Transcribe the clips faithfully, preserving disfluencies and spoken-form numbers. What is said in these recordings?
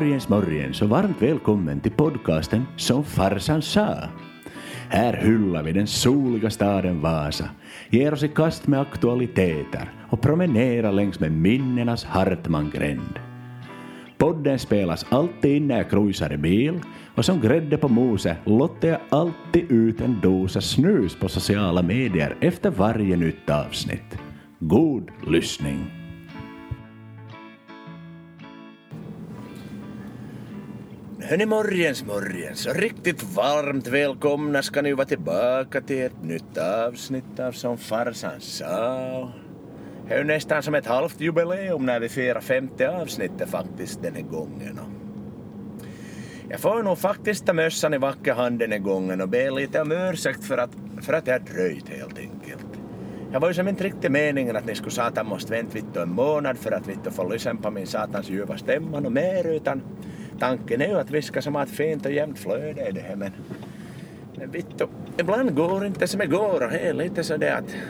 Morgens morgens och varmt välkommen till podcasten Som farsan sa. Här hyllar vi den soliga staden Vasa, ger oss i kast med aktualiteter och promenerar längs med minnenas Hartmanngränd. Podden spelas alltid in när jag cruisar i bil och som grädde på moset låter jag alltid ut en dosa snus på sociala medier efter varje nytt avsnitt. God lyssning! Hörni, morgens morgens och riktigt varmt välkomna ska ni vara tillbaka till ett nytt avsnitt av Som farsan sa. Det är ju nästan som ett halvt jubileum när vi firar femte avsnittet faktiskt den här gången. Jag får nog faktiskt ta mössan i vacker hand den här gången och be lite om ursäkt för att, för att jag har dröjt helt enkelt. Jag var ju som inte riktigt meningen att ni skulle satan måste vänta vitt en månad för att vitt få lyssna på min satans ljuva stämma och mer, utan tanken är ju att vi ska som ha ett fint och jämnt flöde i det här, men, men vitt, ibland går inte som det går och det är lite så det att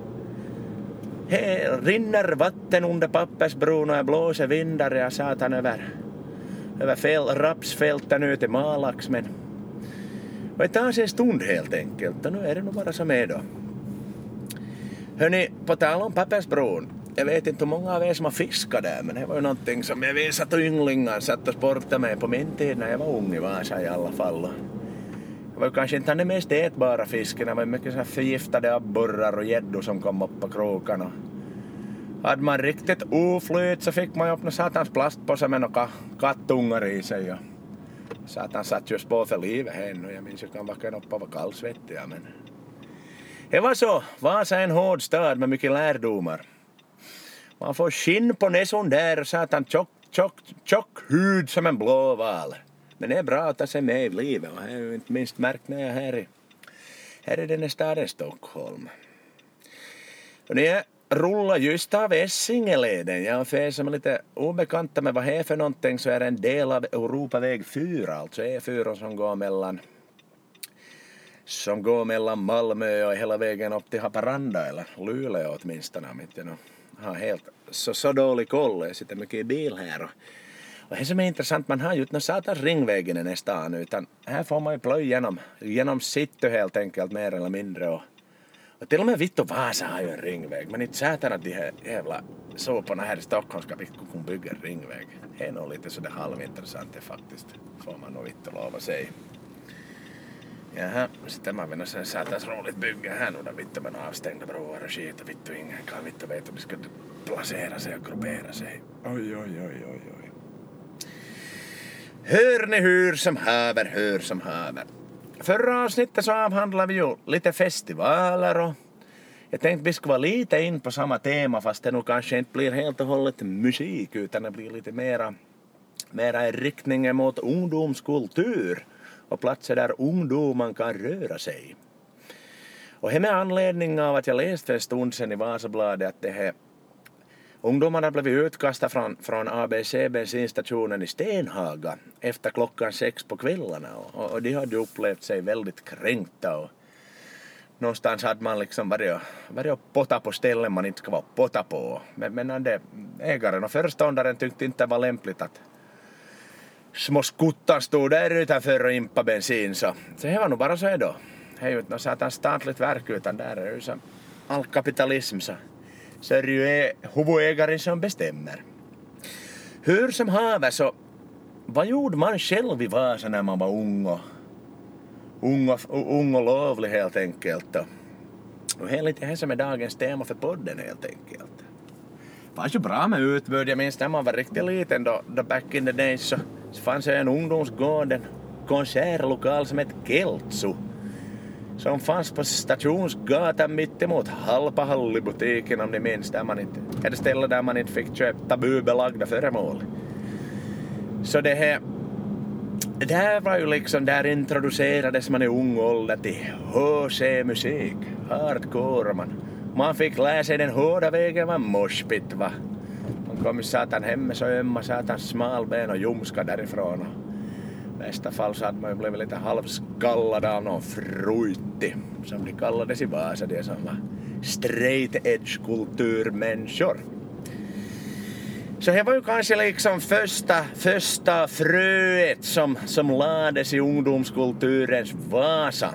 här rinner vatten under pappersbron och jag blåser vindar jag satan över, över fel, rapsfälten ut i Malax, men och det tar sig en stund helt enkelt och nu är det nog bara som är då. Hörni, på tal om pappersbron, jag vet inte hur många av er som har fiskat där, men det var ju någonting som jag vet att ynglingar satt och sportade med på min tid när jag var ung i Vasa i alla fall. Det var ju kanske inte den mest ätbara fisken, det var mycket så här förgiftade abborrar och gäddor som kom upp på krokarna. Hade man riktigt oflyt så fick man ju upp någon satans plastpåse med några kattungar i sig. Och satan satt just på för livet här och jag minns ju kan vara upp och vara kallsvettiga, men det var så. Vasa är en hård stad med mycket lärdomar. Man får skinn på näson där och satan tjock, tjock, tjock hud som en blåval. Men det är bra att ta sig med i livet och jag har ju inte minst märkt när jag är här i, här i den här staden Stockholm. Och när jag rullar just av Essingeleden, jag för er som är lite obekanta med vad det är för någonting, så är det en del av Europaväg fyra, alltså E fyra som går mellan som går mellan Malmö och hela vägen upp till Haparanda eller Luleå åtminstone, om inte jag har helt så, så dålig koll. Jag sitter mycket i bil här och, och det som är intressant, man har ju inte någon satans ringvägen i nästa stan, utan här får man ju plöja genom, genom city helt enkelt mer eller mindre och, och till och med Vitt och Vasa har ju en ringväg, men inte satan att de här jävla såporna här i Stockholm ska kunna bygga en ringväg. Det är nog lite sådär halvintressant det faktiskt, får man nog vitt och lova sig. Jaha, sitten mä mennä sen saatais roligt bygga här nu då vitt med avstängda broar och skit och vitt och ingen kan vitt och vet om de ska placera sig och gruppera sig. Oj, oj, oj, oj, oj. Hör ni hur som haver, hör som haver. Förra avsnittet så avhandlade vi ju lite festivaler och jag tänkte vi ska vara lite in på samma tema, fast det nog kanske inte blir helt och hållet musik utan det blir lite mera, mera i riktningen mot ungdomskultur och platser där ungdomen kan röra sig. Och det med anledning av att jag läste för en stund sedan i Vasabladet att det här ungdomarna blev utkastade från, från A B C bensinstationen i Stenhaga efter klockan sex på kvällarna och, och de hade upplevt sig väldigt kränkta och någonstans hade man liksom varit, varit och potta på ställen man inte ska vara potta på, men, men det, ägaren och föreståndaren tyckte inte det var lämpligt att små skuttar stod där utanför och impa bensin, så, så det var nog bara så då. Det är ju inte något satans statligt verk utan där är ju som all kapitalism, så, så är det ju huvudägaren som bestämmer. Hur som haver, så vad gjorde man själv i Vasa när man var ung och ung och, ung och lovlig helt enkelt då? Och det är lite här som är dagens tema för podden helt enkelt. Det var ju bra med utbud. Jag minns när man var riktigt liten då, då back in the days så, så fanns det en ungdomsgård, en konsertlokal som hette Keltsu som fanns på Stationsgatan mitt emot Halpahallibutiken, om ni minns, där man inte, ett ställe där man inte fick köpa tabubelagda föremål. Så det här det här var ju liksom, där introducerades man i ung ålder till H C-musik, hardcore, man Man fick lära sig den hårda vägen var moshpit, va. Man kom ju satan hem med så ömma satan smalben och ljumska därifrån. I bästa fall så hade man ju blivit lite halvskallad av någon fruitti, som de kallades i Vasa, det som var straight edge kulturmänniskor. Så det var ju kanske liksom första, första fröet som, som lades i ungdomskulturens Vasa.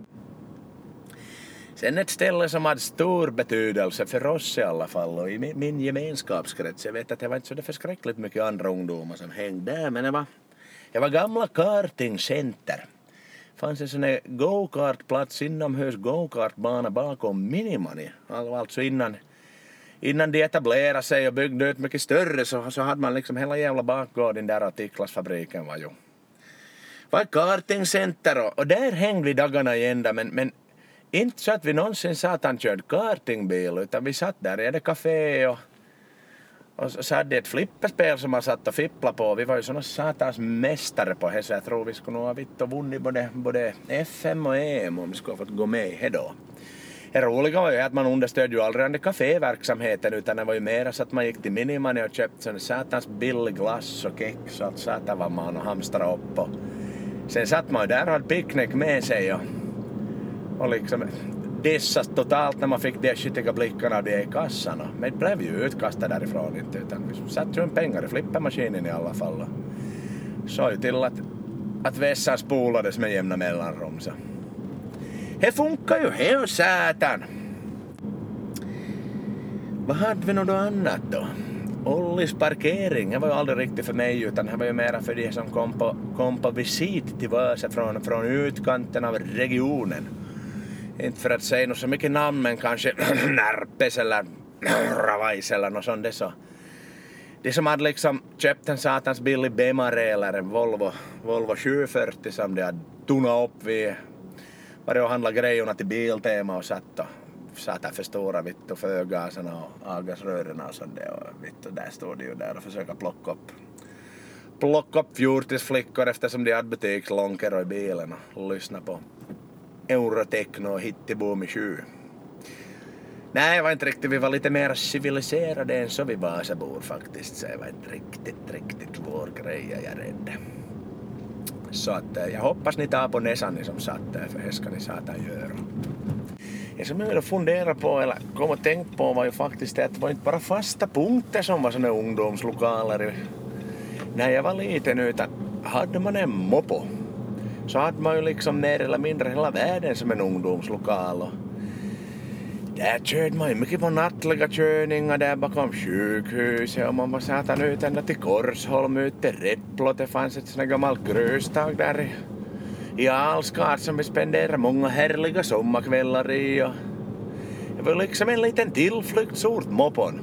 Sen ett ställe som hade stor betydelse för oss i alla fall och i min, min gemenskapskrets. Jag vet att det var inte så det förskräckligt mycket andra ungdomar som hängde där, men det var, det var gamla kartingcenter. Det fanns en sån här go-kartplats inomhus, go-kartbana bakom Minimani. Alltså innan, innan de etablerade sig och byggde ut mycket större så, så hade man liksom hela jävla bakgården där och Tiklasfabriken var ju. Det var ett kartingcenter och, och där hängde vi dagarna i ända, men, men inte så att vi någonsin sa att han körde kartingbil, utan vi satt där i det café och, och så hade det ett flipperspel som man satt och fippla på. Vi var ju såna satans mästare på det, så jag tror vi skulle nog ha vitt och vunnit både, både F M och E M om vi skulle ha fått gå med i det då. Det roliga var ju att man understödde ju aldrig den kaféverksamheten, utan det var ju mer så att man gick till Minimani och köpte sån satans billig glass och kex och allt satan var man och hamstrade upp. Och sen satt man ju där och hade picknick med sig och Och liksom dissas totalt när man fick de skitiga blickarna av de i kassan. Men det blev ju utkastad därifrån inte, utan vi satt ju en pengar i flippermaskinen i alla fall. Så ju till att, att vässan spolades med jämna mellanrum. Så. Det funkar ju helt sätan. Vad hade vi något annat då? Ollis parkering, det var ju aldrig riktigt för mig, utan det var ju mera för de som kom på, kom på visit till Vasa från, från utkanten av regionen. Inte för att säga något så mycket namn, men kanske Närpes eller Ravais eller något sånt. Det, så. Det som hade liksom köpt en satans billig Bemare eller en Volvo, Volvo sju fyrtio som de hade tunnat upp vid. Var det att handla grejerna till Biltema och satt och satt där för stora vitt och förgaserna och avgasrörerna och sånt där. Och, vitt, och där stod de ju där och försöka plocka upp. Plocka upp fjortisflickor eftersom de hade butikslånkor i bilen och lyssna på Eurotechno och Hittiboom i sju. Nej, det var inte riktigt. Vi var lite mer civiliserade än så vi Vasabor faktiskt. Så det var inte riktigt, riktigt vår grej, jag är rädd. Så att jag hoppas ni tar på näsan ni som satt där, för det ska ni satan göra. Det som jag funderar på, eller kom och tänkt på, var ju faktiskt det att det var inte bara fasta punkter som var såna ungdomslokaler när jag var liten, utan hade man en mopo så hade man ju liksom mer eller mindre hela världen som en ungdomslokal. Och där körde man ju mycket på nattliga körningar där bakom sjukhuset och man var satan ut ända till Korsholm ut till Räpplo. Det fanns ett sånt här gammalt gröstag där i, i Alskart som vi spenderade många härliga sommarkvällar i. Och det var liksom en liten tillflyktsort, mopon.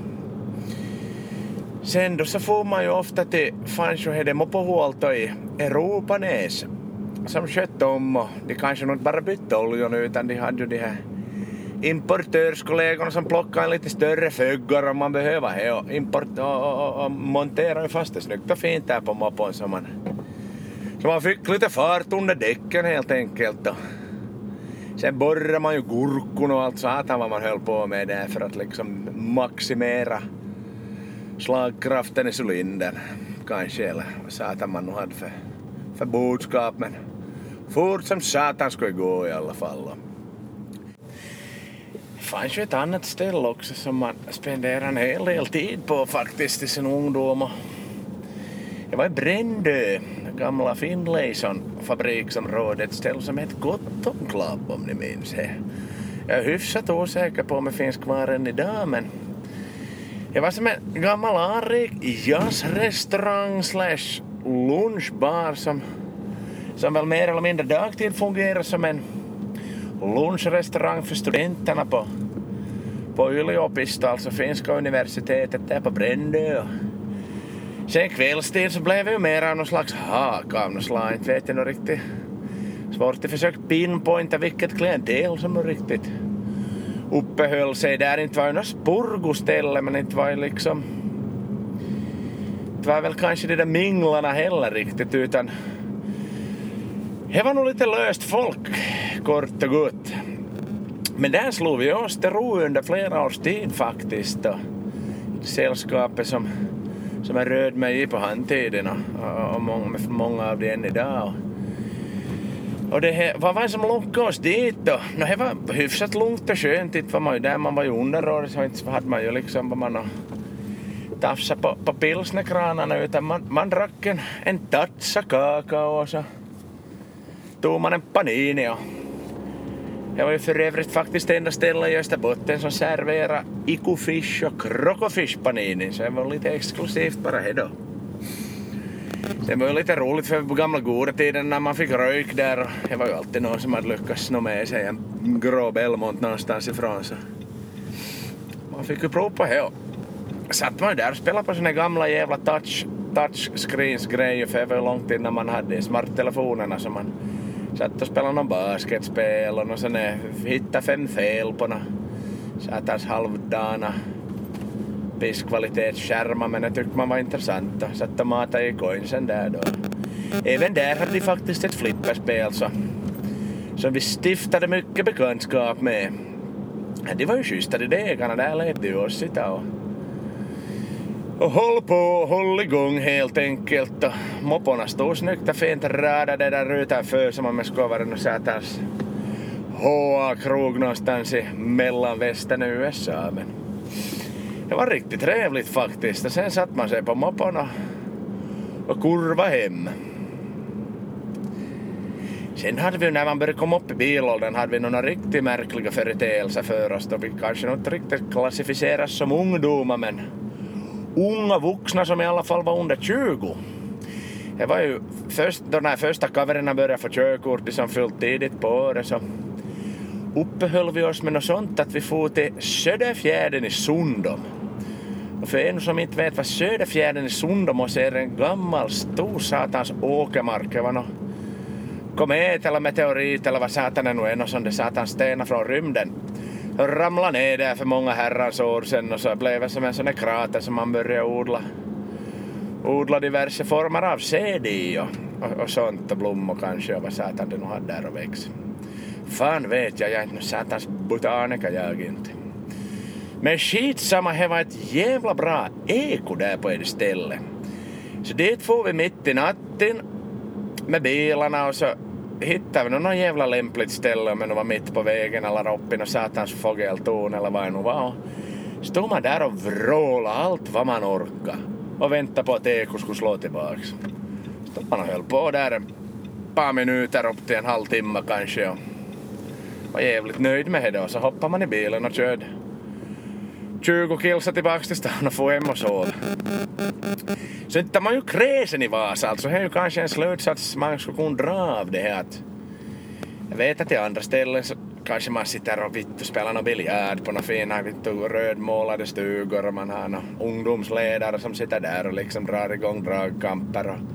Sen då så får man ju ofta till, fanns ju hade mopohuolto i Europanäs som skötte om, och de kanske nog inte bara bytte oljan utan de hade ju de här importörskollegorna som plockade en lite större föggar om man behöver det och, import- och, och, och monterade fast det snyggt och fint där på mopon så man, så man fick lite fart under däcken helt enkelt. Och sen borrade man ju gurkon och allt satan vad man höll på med där för att liksom maximera slagkraften i cylindern kanske, eller vad satan man nu hade för, för budskap, men fort som satan skulle gå i alla fall. Det fanns ju ett annat ställe också som man spenderade en hel del tid på faktiskt i sin ungdom. Det var i Brändö, gamla Finlayson fabriksområdet, ett ställe som hette Cotton Club om ni minns det. Jag är hyfsat osäker på om det finns kvar än idag, men det var som en gammal anrik jazzrestaurang slash lunchbar som, som väl mer eller mindre dagtid fungerar som en lunchrestaurang för studenterna på, på yliopisto, alltså finska universitetet där på Brändö. Sen kvällstid så blev det ju mer av någon slags haka av någon slag, inte vet jag nog riktigt. Svårt att försöka pinpointa vilket klientel som nog riktigt uppehöll sig där. Inte var ju något spurgoställe, men inte var ju liksom, det var väl kanske de där minglarna heller riktigt, utan det var nog lite löst folk, kort och gott. Men där slog vi oss till ro under flera års tid faktiskt. Och sällskapet som, som är röd med i på handtiden och, och många, många av det än idag. Och det här, vad var det som lockade oss dit då? No, det var hyfsat lugnt och skönt. Det var man ju där man var ju underråd, så inte hade man ju liksom vad man tafsa på, på pilsnerkranarna utan man, man drack en, en tatsa kakao och så tog man en panini och jag var ju för övrigt faktiskt enda stället i Österbotten som serverar ikufish och krokofish panini så det var lite exklusivt bara det då. Det var ju lite roligt för på gamla goda tiden när man fick rök där och det var ju alltid någon som hade lyckats sno med sig en grå Belmont någonstans ifrån så man fick ju prova på det och satt man ju där och spelade på såna gamla jävla touch, touchscreens grejer för det var ju långt innan man hade smarttelefonerna så man satt och spelade någon basketspel och sen hittade fem fel på några satans halvdana pisskvalitetsskärmar men det tyckte man var intressant och satt och matade i coinsen där då. Även där hade vi faktiskt ett flipperspel så, som vi stiftade mycket bekantskap med. Det var ju schysstare degarna, där lät det oss sitta och, och håll på och håll igång helt enkelt och mopporna stod snyggt och fint radade där utanför som man med skovaren och satans H A-krog någonstans i mellanvästern i U S A men det var riktigt trevligt faktiskt och sen satt man sig på mopporna och kurva hem. Sen hade vi när man började komma upp i bilåldern hade vi några riktigt märkliga företeelser för oss då vi kanske inte riktigt klassificeras som ungdomar men unga vuxna som i alla fall var under tjugo. Det var ju först då när första kaverna började få körkort som fyllt tidigt på året så uppehöll vi oss med något sånt att vi får till Söderfjärden i Sundom. Och för en som inte vet vad Söderfjärden i Sundom och ser en gammal stor satans åkermark. Det var något komet eller meteorit eller vad satan är nu en och sån där satans stenar från rymden. Och ramlade ner där för många herrans år sedan och så blev det som en sån här krater som man började odla. Odla diverse former av säd i och, och, och sånt och blommor kanske och vad satan det nu hade där och växt. Fan vet jag, jag är inte satans botaniker jag inte. Men skitsamma, det var ett jävla bra eko där på ett ställe. Så dit får vi mitt i natten med bilarna och så hittade vi någon jävla lämpligt ställe om det var mitt på vägen eller uppe i någon satans fågeltorn eller vad det nu var. Stod man där och vråla allt vad man orkar och väntade på att eko skulle slå tillbaks. Stod man och höll på där ett par minuter upp till en halvtimme kanske och var jävligt nöjd med det och så hoppade man i bilen och körde tjugo kilsa tillbaks till stan och få hem och sova. Så inte man ju kräsen i Vasa, alltså det är ju kanske en slutsats man skulle kunna dra av det här att jag vet att i andra ställen så kanske man sitter och vitt och spelar någon biljard på några fina vitt och rödmålade stugor och man har några ungdomsledare som sitter där och liksom drar igång dragkamper och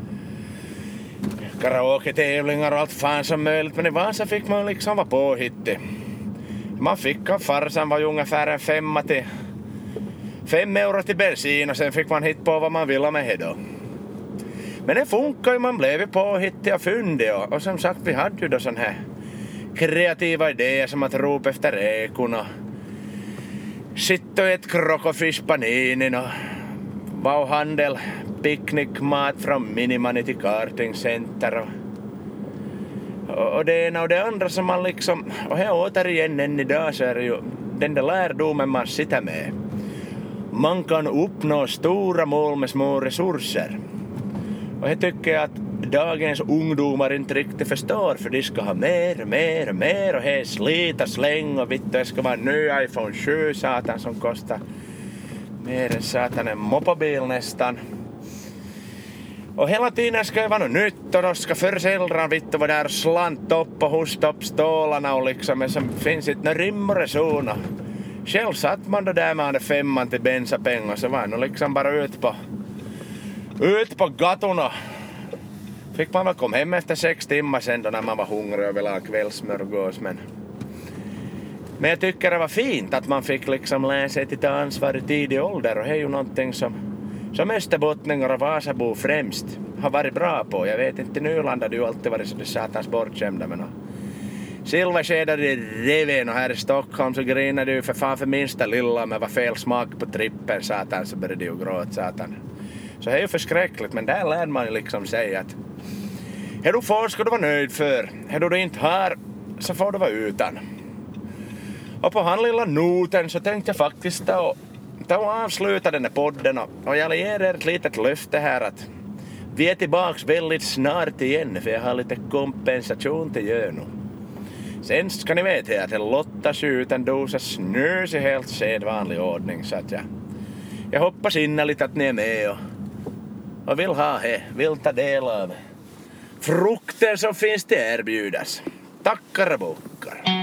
karaoke-tävlingar och allt fan som möjligt men i Vasa fick man liksom vara påhittig. Man fick av farsan var ju ungefär en femma till fem euro till bensin och sen fick man hit på vad man ville med det då. Men det funkar ju, man blev ju påhittig och fyndig och, och som sagt vi hade ju då sån här kreativa idéer som att ropa efter ekon och sitta och ett krokofish paninin och vauhandel picknickmat från Minimani till kartingcenter och, och det ena och det andra som man liksom och här återigen än idag så är det ju den där lärdomen man sitter med. Man kan uppnå stora mål med små resurser. Och jag tycker att dagens ungdomar inte riktigt förstår för de ska ha mer, mer, mer och här slita, släng och vitt det ska vara en ny iPhone sju satan som kostar mer än satan en moppabil nästan. Och hela tiden ska det vara något nytt och då ska föräldrarna vitt och vara där slant upp och hosta upp stålarna och liksom men som finns inte några rim och reson. Själv satt man då där med den femman till bensapengar så var nog liksom bara ut på ut på gatorna. Fick man väl komma hem efter sex timmar sen då när man var hungrig och ville ha kvällsmörgås men men jag tycker det var fint att man fick liksom lära sig till ta ansvar i tidig ålder och det är ju någonting som som österbottningar och Vasabo främst har varit bra på. Jag vet inte, Nyland hade ju alltid varit så det satans bortskämda men silverskedade i reven och här i Stockholm så grinade du för fan för minsta lilla med vad fel smak på trippen satan så började ju gråta satan. Så det är ju förskräckligt men där lär man ju liksom säga att är du får ska du vara nöjd för. Är du inte har så får du vara utan. Och på han lilla noten så tänkte jag faktiskt och ta avsluta den här podden och, och jag ger er ett litet löfte här att vi är tillbaks väldigt snart igen för jag har lite kompensation till göra nu. Sen ska ni veta att Lotta skjuter en dosa snus i helt sedvanlig ordning så att jag, jag hoppas innerligt att ni är med och, och vill ha det, vill ta del av frukten som finns till erbjudas. Tackar och bockar.